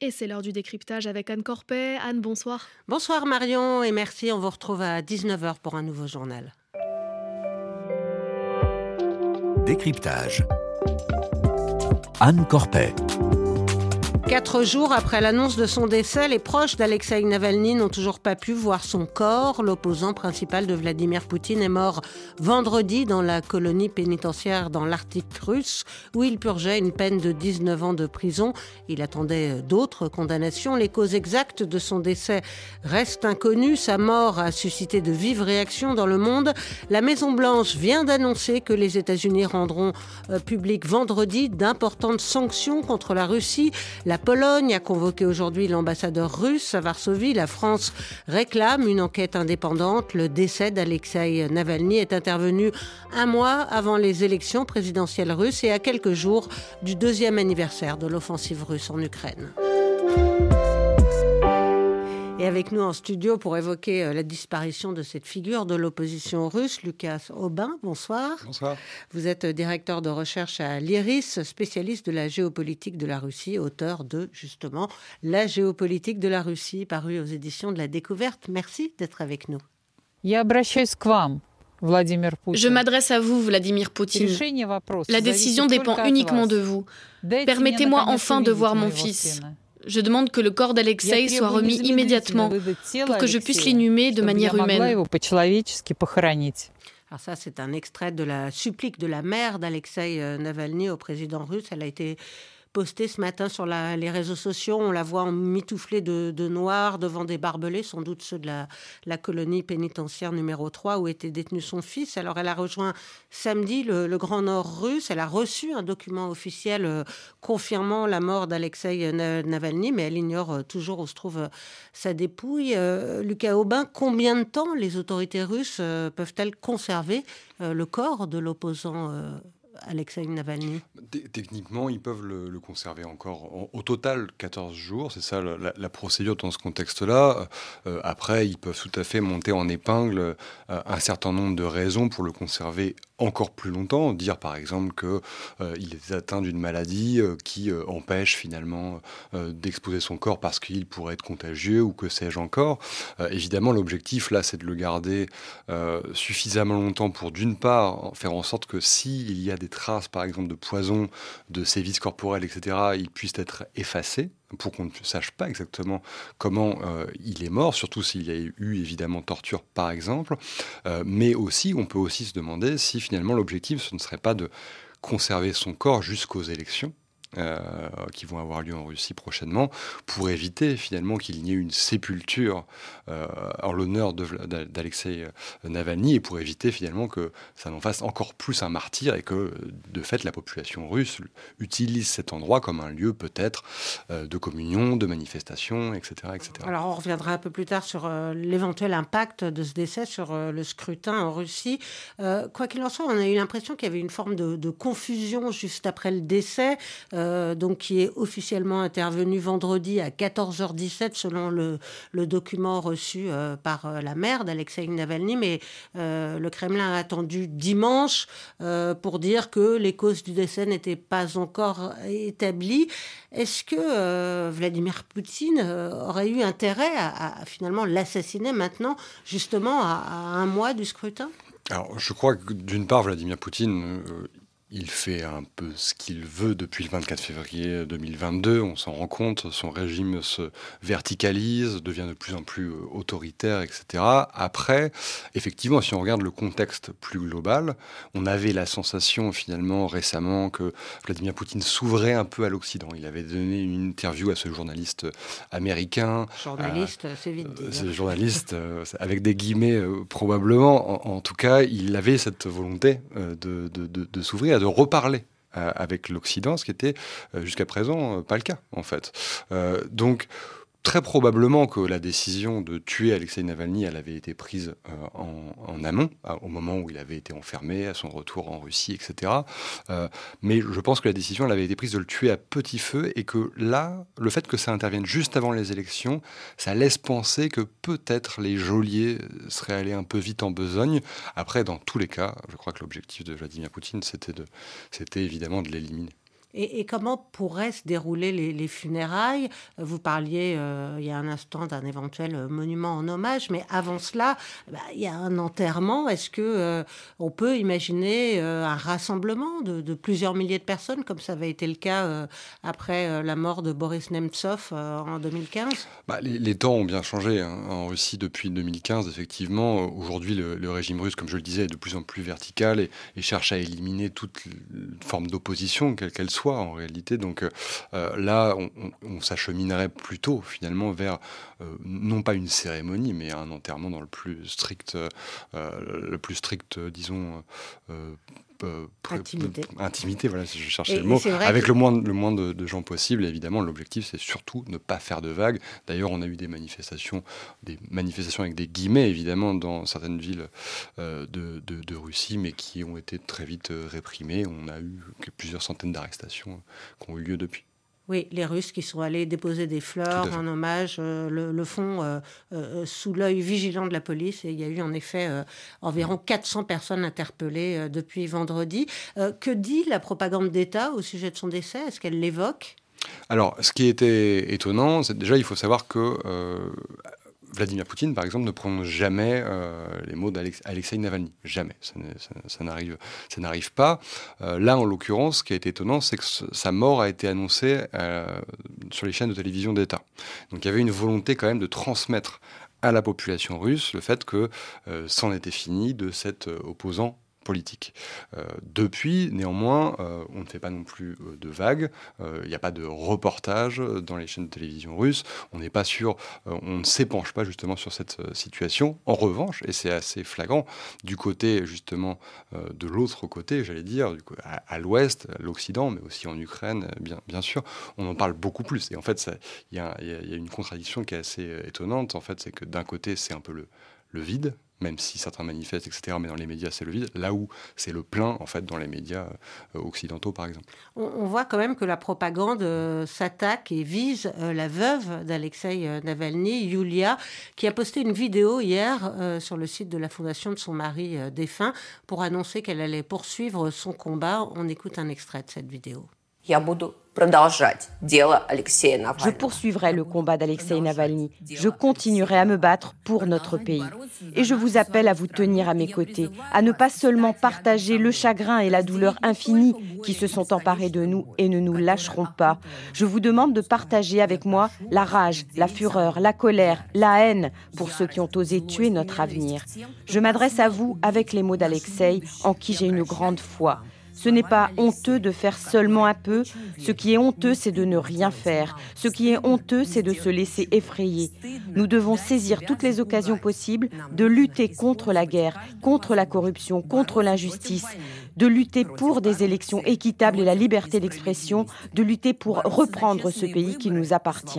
Et c'est l'heure du décryptage avec Anne Corpet. Anne, bonsoir. Bonsoir Marion et merci, on vous retrouve à 19h pour un nouveau journal. Décryptage. Anne Corpet. 4 jours après l'annonce de son décès, les proches d'Alexeï Navalny n'ont toujours pas pu voir son corps. L'opposant principal de Vladimir Poutine est mort vendredi dans la colonie pénitentiaire dans l'Arctique russe, où il purgeait une peine de 19 ans de prison. Il attendait d'autres condamnations. Les causes exactes de son décès restent inconnues. Sa mort a suscité de vives réactions dans le monde. La Maison-Blanche vient d'annoncer que les États-Unis rendront public vendredi d'importantes sanctions contre la Russie. La Pologne a convoqué aujourd'hui l'ambassadeur russe à Varsovie. La France réclame une enquête indépendante. Le décès d'Alexeï Navalny est intervenu un mois avant les élections présidentielles russes et à quelques jours du 2e anniversaire de l'offensive russe en Ukraine. Et avec nous en studio pour évoquer la disparition de cette figure de l'opposition russe, Lucas Aubin, bonsoir. Bonsoir. Vous êtes directeur de recherche à l'IRIS, spécialiste de la géopolitique de la Russie, auteur de, justement, La géopolitique de la Russie, paru aux éditions de La Découverte. Merci d'être avec nous. Je m'adresse à vous, Vladimir Poutine. La décision dépend uniquement de vous. Permettez-moi enfin de voir mon fils. Je demande que le corps d'Alexeï soit remis immédiatement pour que je puisse l'inhumer de manière humaine. Alors ça, c'est un extrait de la supplique de la mère d'Alexeï Navalny au président russe. Elle a été postée ce matin sur les réseaux sociaux. On la voit mitouflée de noir devant des barbelés, sans doute ceux de la colonie pénitentiaire numéro 3 où était détenu son fils. Alors elle a rejoint samedi le Grand Nord russe. Elle a reçu un document officiel confirmant la mort d'Alexeï Navalny, mais elle ignore toujours où se trouve sa dépouille. Lucas Aubin, combien de temps les autorités russes peuvent-elles conserver le corps de l'opposant Alexeï Navalny? Techniquement, ils peuvent le conserver encore au total 14 jours. C'est ça la procédure dans ce contexte-là. Après, ils peuvent tout à fait monter en épingle un certain nombre de raisons pour le conserver encore plus longtemps. Dire par exemple qu'il est atteint d'une maladie qui empêche finalement d'exposer son corps parce qu'il pourrait être contagieux ou que sais-je encore. Évidemment, l'objectif là, c'est de le garder suffisamment longtemps pour d'une part faire en sorte que s'il y a des traces par exemple de poison, de sévices corporels, etc., ils puissent être effacés pour qu'on ne sache pas exactement comment il est mort, surtout s'il y a eu évidemment torture par exemple, mais aussi on peut aussi se demander si finalement l'objectif ce ne serait pas de conserver son corps jusqu'aux élections qui vont avoir lieu en Russie prochainement, pour éviter finalement qu'il n'y ait une sépulture en l'honneur d'Alexeï Navalny et pour éviter finalement que ça n'en fasse encore plus un martyr et que de fait la population russe utilise cet endroit comme un lieu peut-être de communion, de manifestation, etc., etc. Alors on reviendra un peu plus tard sur l'éventuel impact de ce décès sur le scrutin en Russie. Quoi qu'il en soit, on a eu l'impression qu'il y avait une forme de confusion juste après le décès, donc qui est officiellement intervenu vendredi à 14h17 selon le document reçu par la mère d'Alexeï Navalny, mais le Kremlin a attendu dimanche pour dire que les causes du décès n'étaient pas encore établies. Est-ce que Vladimir Poutine aurait eu intérêt à finalement l'assassiner maintenant, justement à un mois du scrutin ? Alors, je crois que d'une part, Vladimir Poutine... il fait un peu ce qu'il veut depuis le 24 février 2022, on s'en rend compte, son régime se verticalise, devient de plus en plus autoritaire, etc. Après, effectivement, si on regarde le contexte plus global, on avait la sensation finalement récemment que Vladimir Poutine s'ouvrait un peu à l'Occident. Il avait donné une interview à ce journaliste américain. Journaliste, c'est vite dit. C'est journaliste, avec des guillemets probablement. En tout cas, il avait cette volonté de s'ouvrir, de reparler avec l'Occident, ce qui était jusqu'à présent pas le cas, en fait. Donc, très probablement que la décision de tuer Alexeï Navalny, elle avait été prise en amont, au moment où il avait été enfermé, à son retour en Russie, etc. Mais je pense que la décision, elle avait été prise de le tuer à petit feu et que là, le fait que ça intervienne juste avant les élections, ça laisse penser que peut-être les geôliers seraient allés un peu vite en besogne. Après, dans tous les cas, je crois que l'objectif de Vladimir Poutine, c'était évidemment de l'éliminer. Et comment pourraient se dérouler les funérailles ? Vous parliez il y a un instant d'un éventuel monument en hommage, mais avant cela, il y a un enterrement. Est-ce qu'on peut imaginer un rassemblement de plusieurs milliers de personnes, comme ça avait été le cas après la mort de Boris Nemtsov en 2015 ? Les temps ont bien changé en Russie depuis 2015, effectivement. Aujourd'hui, le régime russe, comme je le disais, est de plus en plus vertical et cherche à éliminer toute forme d'opposition, quelle qu'elle soit en réalité. Donc là, on s'acheminerait plutôt finalement vers non pas une cérémonie, mais un enterrement dans le plus strict, disons. Intimité, voilà, si je cherchais le mot, avec le moins de gens possible. Et évidemment, l'objectif, c'est surtout ne pas faire de vagues. D'ailleurs, on a eu des manifestations avec des guillemets, évidemment, dans certaines villes de Russie, mais qui ont été très vite réprimées. On a eu plusieurs centaines d'arrestations qui ont eu lieu depuis. Oui, les Russes qui sont allés déposer des fleurs en hommage le font sous l'œil vigilant de la police. Et il y a eu en effet environ 400 personnes interpellées depuis vendredi. Que dit la propagande d'État au sujet de son décès ? Est-ce qu'elle l'évoque ? Alors, ce qui était étonnant, c'est déjà, il faut savoir que Vladimir Poutine, par exemple, ne prononce jamais les mots d'Alexeï Navalny. Jamais. Ça n'arrive pas. Là, en l'occurrence, ce qui a été étonnant, c'est que sa mort a été annoncée sur les chaînes de télévision d'État. Donc il y avait une volonté quand même de transmettre à la population russe le fait que c'en était fini de cet opposant politique. Depuis, néanmoins, on ne fait pas non plus de vagues. Il n'y a pas de reportage dans les chaînes de télévision russes. On n'est pas sûr, on ne s'épanche pas justement sur cette situation. En revanche, et c'est assez flagrant, du côté justement de l'autre côté, j'allais dire, à l'ouest, à l'Occident, mais aussi en Ukraine, bien sûr, on en parle beaucoup plus. Et en fait, il y a une contradiction qui est assez étonnante. En fait, c'est que d'un côté, c'est un peu le vide, même si certains manifestent, etc., mais dans les médias, c'est le vide, là où c'est le plein, en fait, dans les médias occidentaux, par exemple. On voit quand même que la propagande s'attaque et vise la veuve d'Alexeï Navalny, Yulia, qui a posté une vidéo hier sur le site de la fondation de son mari défunt pour annoncer qu'elle allait poursuivre son combat. On écoute un extrait de cette vidéo. Je poursuivrai le combat d'Alexeï Navalny. Je continuerai à me battre pour notre pays. Et je vous appelle à vous tenir à mes côtés, à ne pas seulement partager le chagrin et la douleur infinie qui se sont emparés de nous et ne nous lâcheront pas. Je vous demande de partager avec moi la rage, la fureur, la colère, la haine pour ceux qui ont osé tuer notre avenir. Je m'adresse à vous avec les mots d'Alexeï, en qui j'ai une grande foi. Ce n'est pas honteux de faire seulement un peu. Ce qui est honteux, c'est de ne rien faire. Ce qui est honteux, c'est de se laisser effrayer. Nous devons saisir toutes les occasions possibles de lutter contre la guerre, contre la corruption, contre l'injustice, de lutter pour des élections équitables et la liberté d'expression, de lutter pour reprendre ce pays qui nous appartient.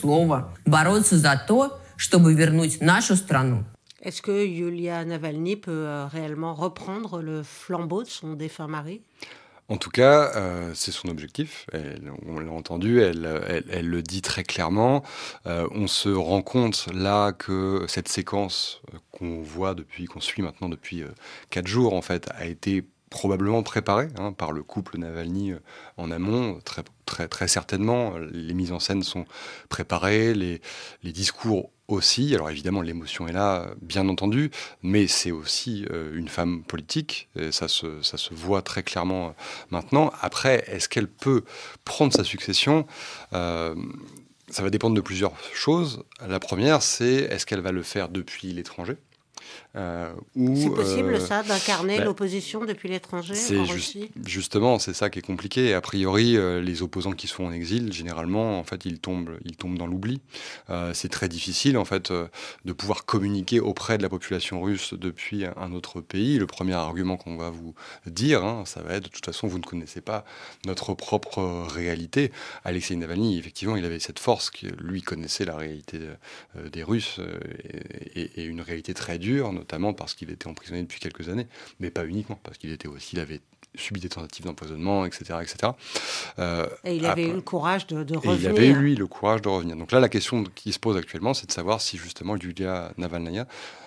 Est-ce que Yulia Navalny peut réellement reprendre le flambeau de son défunt mari ? En tout cas, c'est son objectif. On l'a entendu, elle le dit très clairement. On se rend compte là que cette séquence qu'on suit maintenant depuis 4 jours, en fait, a été probablement préparée par le couple Navalny en amont, très certainement. Les mises en scène sont préparées, les discours aussi. Alors évidemment, l'émotion est là, bien entendu, mais c'est aussi une femme politique, et ça se voit très clairement maintenant. Après, est-ce qu'elle peut prendre sa succession ? Ça va dépendre de plusieurs choses. La première, c'est est-ce qu'elle va le faire depuis l'étranger ? C'est possible ça, d'incarner l'opposition depuis l'étranger en Russie ? Justement, c'est ça qui est compliqué. A priori, les opposants qui sont en exil, généralement, en fait, ils tombent dans l'oubli. C'est très difficile, en fait, de pouvoir communiquer auprès de la population russe depuis un autre pays. Le premier argument qu'on va vous dire, ça va être, de toute façon, vous ne connaissez pas notre propre réalité. Alexeï Navalny, effectivement, il avait cette force, lui connaissait la réalité des Russes et une réalité très dure, notamment parce qu'il était emprisonné depuis quelques années, mais pas uniquement, parce qu'il avait subi des tentatives d'empoisonnement, etc. Et il avait eu le courage de revenir. Et il avait eu, lui, le courage de revenir. Donc là, la question qui se pose actuellement, c'est de savoir si, justement, Yulia Navalnaya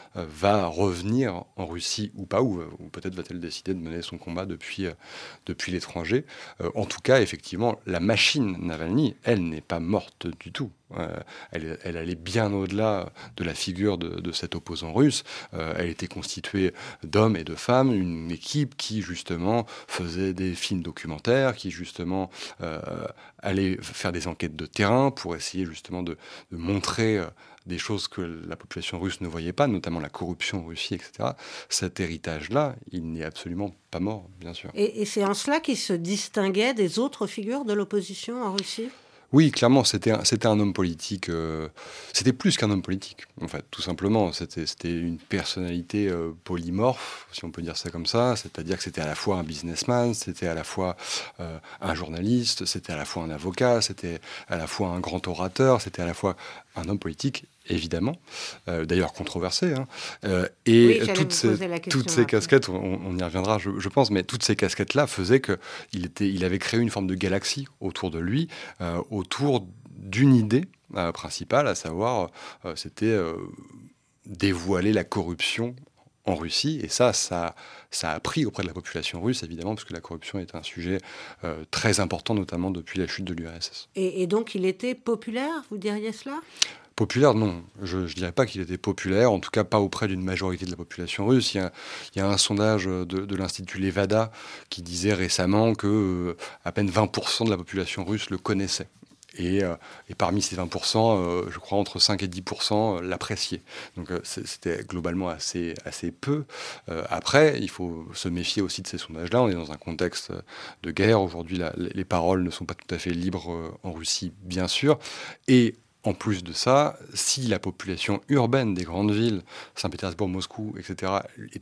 va revenir en Russie ou pas, ou peut-être va-t-elle décider de mener son combat depuis l'étranger. En tout cas, effectivement, la machine Navalny, elle n'est pas morte du tout. Elle allait bien au-delà de la figure de cet opposant russe. Elle était constituée d'hommes et de femmes, une équipe qui justement faisait des films documentaires, qui justement allait faire des enquêtes de terrain pour essayer justement de montrer des choses que la population russe ne voyait pas, notamment la corruption en Russie, etc. Cet héritage-là, il n'est absolument pas mort, bien sûr. Et c'est en cela qu'il se distinguait des autres figures de l'opposition en Russie ? Oui, clairement, c'était un homme politique. C'était plus qu'un homme politique, en fait, tout simplement. C'était une personnalité polymorphe, si on peut dire ça comme ça. C'est-à-dire que c'était à la fois un businessman, c'était à la fois un journaliste, c'était à la fois un avocat, c'était à la fois un grand orateur, c'était à la fois un homme politique, évidemment, d'ailleurs controversé. Et oui, toutes ces casquettes, on y reviendra, je pense, mais toutes ces casquettes-là faisaient qu'il avait créé une forme de galaxie autour de lui, autour d'une idée principale, à savoir, c'était dévoiler la corruption en Russie. Et ça a pris auprès de la population russe, évidemment, parce que la corruption est un sujet très important, notamment depuis la chute de l'URSS. Et donc, il était populaire, vous diriez cela ? Populaire, non. Je ne dirais pas qu'il était populaire, en tout cas pas auprès d'une majorité de la population russe. Il y a un sondage de l'Institut Levada qui disait récemment que à peine 20% de la population russe le connaissait. Et parmi ces 20%, je crois entre 5 et 10% l'appréciaient. Donc c'était globalement assez peu. Après, il faut se méfier aussi de ces sondages-là. On est dans un contexte de guerre. Aujourd'hui, les paroles ne sont pas tout à fait libres en Russie, bien sûr. Et en plus de ça, si la population urbaine des grandes villes, Saint-Pétersbourg, Moscou, etc.,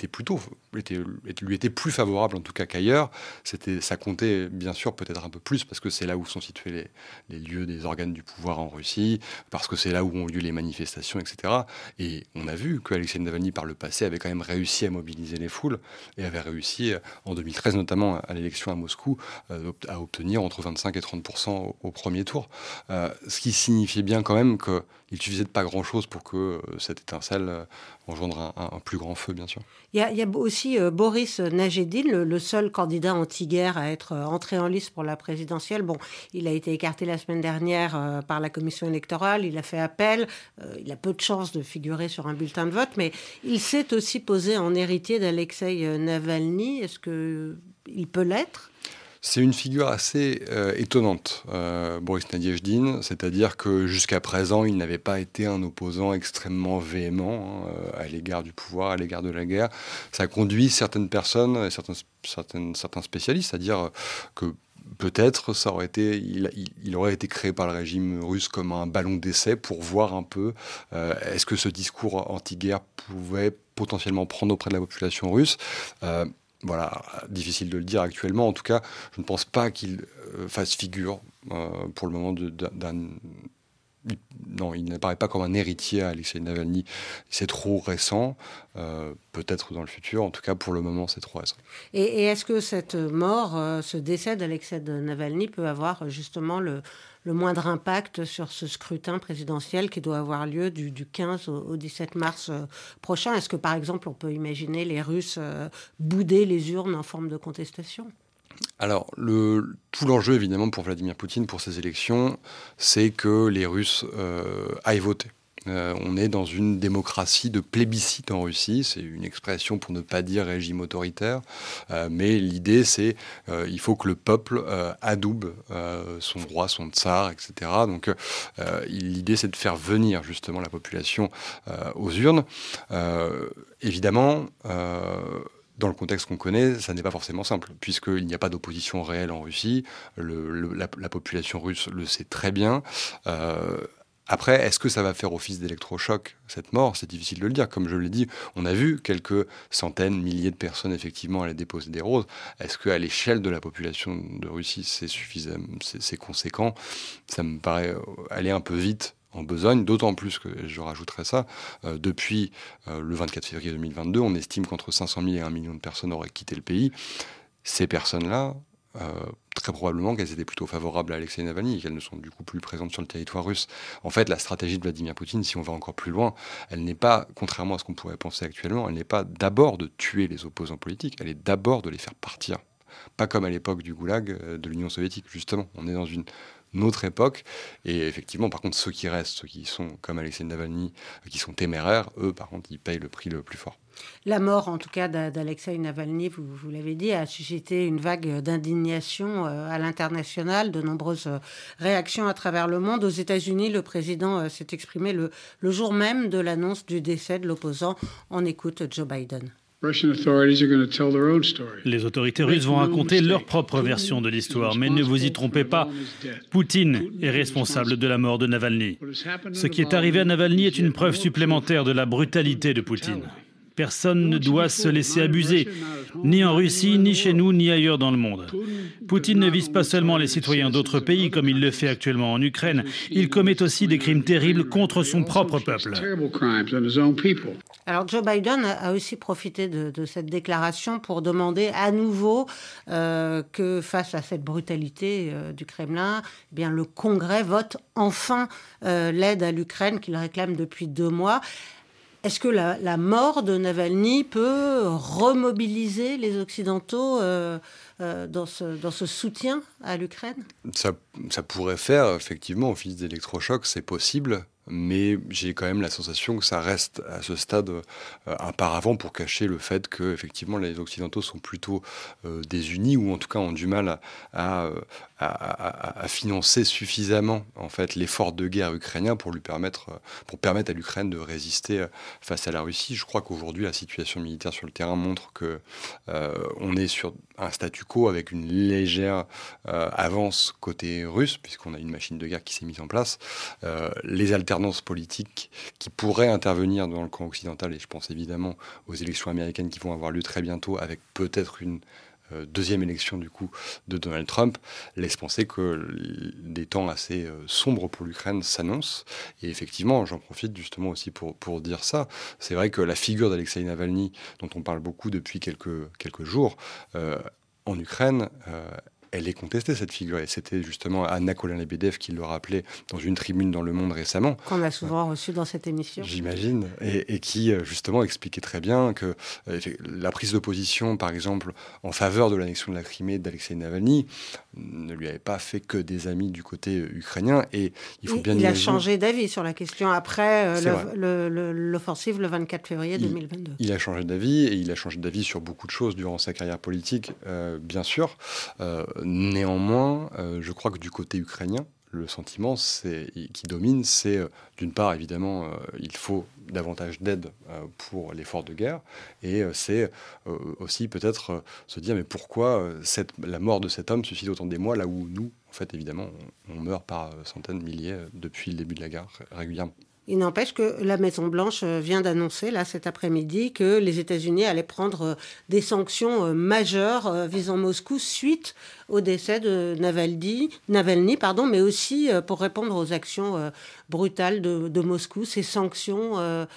lui était plus favorable en tout cas qu'ailleurs, ça comptait bien sûr peut-être un peu plus parce que c'est là où sont situés les lieux des organes du pouvoir en Russie, parce que c'est là où ont lieu les manifestations, etc. Et on a vu qu'Alexei Navalny par le passé avait quand même réussi à mobiliser les foules et avait réussi en 2013 notamment à l'élection à Moscou à obtenir entre 25 et 30% au premier tour. Ce qui signifiait bien quand même qu'il suffisait de pas grand-chose pour que cette étincelle engendre un plus grand feu, bien sûr. Il y a aussi Boris Nadjeldine, le seul candidat anti-guerre à être entré en lice pour la présidentielle. Bon, il a été écarté la semaine dernière par la commission électorale, il a fait appel, il a peu de chances de figurer sur un bulletin de vote, mais il s'est aussi posé en héritier d'Alexei Navalny. Est-ce qu'il peut l'être ? C'est une figure assez étonnante, Boris Nadjeldine, c'est-à-dire que jusqu'à présent, il n'avait pas été un opposant extrêmement véhément à l'égard du pouvoir, à l'égard de la guerre. Ça a conduit certaines personnes, et certains spécialistes, à dire que peut-être il aurait été créé par le régime russe comme un ballon d'essai pour voir un peu est-ce que ce discours anti-guerre pouvait potentiellement prendre auprès de la population russe. Voilà, difficile de le dire actuellement. En tout cas, je ne pense pas qu'il fasse figure pour le moment d'un... Non, il n'apparaît pas comme un héritier à Alexei Navalny. C'est trop récent, peut-être dans le futur. En tout cas, pour le moment, c'est trop récent. Et est-ce que cette mort, ce décès d'Alexei Navalny peut avoir justement le moindre impact sur ce scrutin présidentiel qui doit avoir lieu du 15 au 17 mars prochain ? Est-ce que, par exemple, on peut imaginer les Russes bouder les urnes en forme de contestation ? Alors, tout l'enjeu, évidemment, pour Vladimir Poutine, pour ces élections, c'est que les Russes aillent voter. On est dans une démocratie de plébiscite en Russie. C'est une expression pour ne pas dire régime autoritaire. Mais l'idée, c'est il faut que le peuple adoube son roi, son tsar, etc. Donc l'idée, c'est de faire venir justement la population aux urnes. Évidemment... dans le contexte qu'on connaît, ça n'est pas forcément simple, puisqu'il n'y a pas d'opposition réelle en Russie. La population russe le sait très bien. Après, est-ce que ça va faire office d'électrochoc, cette mort ? C'est difficile de le dire. Comme je l'ai dit, on a vu quelques centaines, milliers de personnes, effectivement, aller déposer des roses. Est-ce qu'à l'échelle de la population de Russie, c'est suffisant, c'est conséquent ? Ça me paraît aller un peu vite en besogne, d'autant plus que, je rajouterais ça, depuis le 24 février 2022, on estime qu'entre 500 000 et 1 million de personnes auraient quitté le pays. Ces personnes-là très probablement qu'elles étaient plutôt favorables à Alexei Navalny et qu'elles ne sont du coup plus présentes sur le territoire russe. En fait, la stratégie de Vladimir Poutine, si on va encore plus loin, elle n'est pas, contrairement à ce qu'on pourrait penser actuellement, elle n'est pas d'abord de tuer les opposants politiques, elle est d'abord de les faire partir. Pas comme à l'époque du goulag de l'Union soviétique, justement. On est dans une autre époque. Et effectivement, par contre, ceux qui restent, ceux qui sont comme Alexei Navalny, qui sont téméraires, eux, par contre, ils payent le prix le plus fort. La mort, en tout cas, d'Alexei Navalny, vous l'avez dit, a suscité une vague d'indignation à l'international, de nombreuses réactions à travers le monde. Aux États-Unis, le président s'est exprimé le jour même de l'annonce du décès de l'opposant. On écoute Joe Biden. Les autorités russes vont raconter leur propre version de l'histoire, mais ne vous y trompez pas, Poutine est responsable de la mort de Navalny. Ce qui est arrivé à Navalny est une preuve supplémentaire de la brutalité de Poutine. Personne ne doit se laisser abuser, ni en Russie, ni chez nous, ni ailleurs dans le monde. Poutine ne vise pas seulement les citoyens d'autres pays, comme il le fait actuellement en Ukraine, il commet aussi des crimes terribles contre son propre peuple. Alors Joe Biden a aussi profité de cette déclaration pour demander à nouveau que face à cette brutalité du Kremlin, eh bien, le Congrès vote enfin l'aide à l'Ukraine qu'il réclame depuis 2 mois. Est-ce que la mort de Navalny peut remobiliser les Occidentaux dans ce soutien à l'Ukraine ? Ça pourrait faire effectivement office d'électrochoc, c'est possible. Mais j'ai quand même la sensation que ça reste à ce stade un paravent pour cacher le fait que effectivement les Occidentaux sont plutôt désunis ou en tout cas ont du mal à financer suffisamment en fait l'effort de guerre ukrainien pour permettre à l'Ukraine de résister face à la Russie. Je crois qu'aujourd'hui la situation militaire sur le terrain montre que on est sur un statu quo avec une légère avance côté russe puisqu'on a une machine de guerre qui s'est mise en place. Les alternances politiques qui pourraient intervenir dans le camp occidental, et je pense évidemment aux élections américaines qui vont avoir lieu très bientôt, avec peut-être une deuxième élection du coup de Donald Trump, laisse penser que des temps assez sombres pour l'Ukraine s'annoncent. Et effectivement, j'en profite justement aussi pour dire ça. C'est vrai que la figure d'Alexei Navalny, dont on parle beaucoup depuis quelques jours, en Ukraine, elle est contestée, cette figure. Et c'était justement Anna Kolen-Lebedev qui le rappelait dans une tribune dans Le Monde récemment. Qu'on a souvent reçu dans cette émission. J'imagine. Et qui, justement, expliquait très bien que la prise de position, par exemple, en faveur de l'annexion de la Crimée d'Alexei Navalny, ne lui avait pas fait que des amis du côté ukrainien. Et il faut bien imaginer... Il a changé d'avis sur la question après l'offensive le 24 février 2022. Il a changé d'avis, et il a changé d'avis sur beaucoup de choses durant sa carrière politique, bien sûr. Néanmoins, je crois que du côté ukrainien, le sentiment qui domine, c'est d'une part, évidemment, il faut davantage d'aide pour l'effort de guerre, et c'est aussi peut-être se dire, mais pourquoi la mort de cet homme suscite autant d'émoi, là où nous, en fait, évidemment, on meurt par centaines, milliers depuis le début de la guerre régulièrement. Il n'empêche que la Maison-Blanche vient d'annoncer, là, cet après-midi, que les États-Unis allaient prendre des sanctions majeures visant Moscou suite au décès de Navalny, mais aussi pour répondre aux actions brutales de Moscou. Ces sanctions,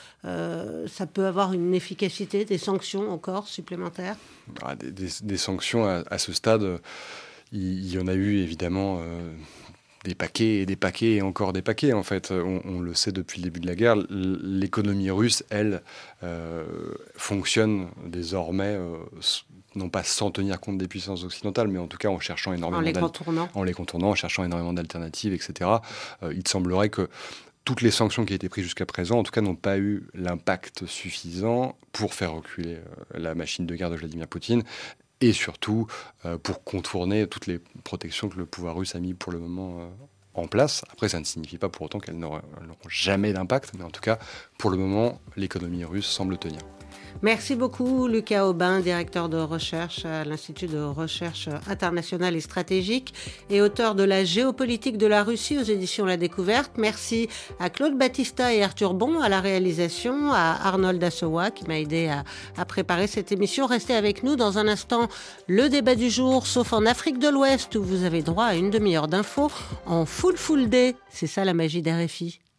ça peut avoir une efficacité, des sanctions encore supplémentaires ? Des sanctions à ce stade, il y en a eu évidemment... des paquets et des paquets et encore des paquets, en fait. On le sait depuis le début de la guerre. L'économie russe, elle, fonctionne désormais, non pas sans tenir compte des puissances occidentales, mais en tout cas en cherchant énormément... En les contournant, en cherchant énormément d'alternatives, etc. Il semblerait que toutes les sanctions qui ont été prises jusqu'à présent, en tout cas, n'ont pas eu l'impact suffisant pour faire reculer la machine de guerre de Vladimir Poutine, et surtout pour contourner toutes les protections que le pouvoir russe a mis pour le moment en place. Après, ça ne signifie pas pour autant qu'elles n'auront jamais d'impact, mais en tout cas, pour le moment, l'économie russe semble tenir. Merci beaucoup Lucas Aubin, directeur de recherche à l'Institut de recherche internationale et stratégique et auteur de La géopolitique de la Russie aux éditions La Découverte. Merci à Claude Battista et Arthur Bon à la réalisation, à Arnold Assewa qui m'a aidé à préparer cette émission. Restez avec nous dans un instant, le débat du jour, sauf en Afrique de l'Ouest où vous avez droit à une demi-heure d'infos en full day. C'est ça la magie d'RFI.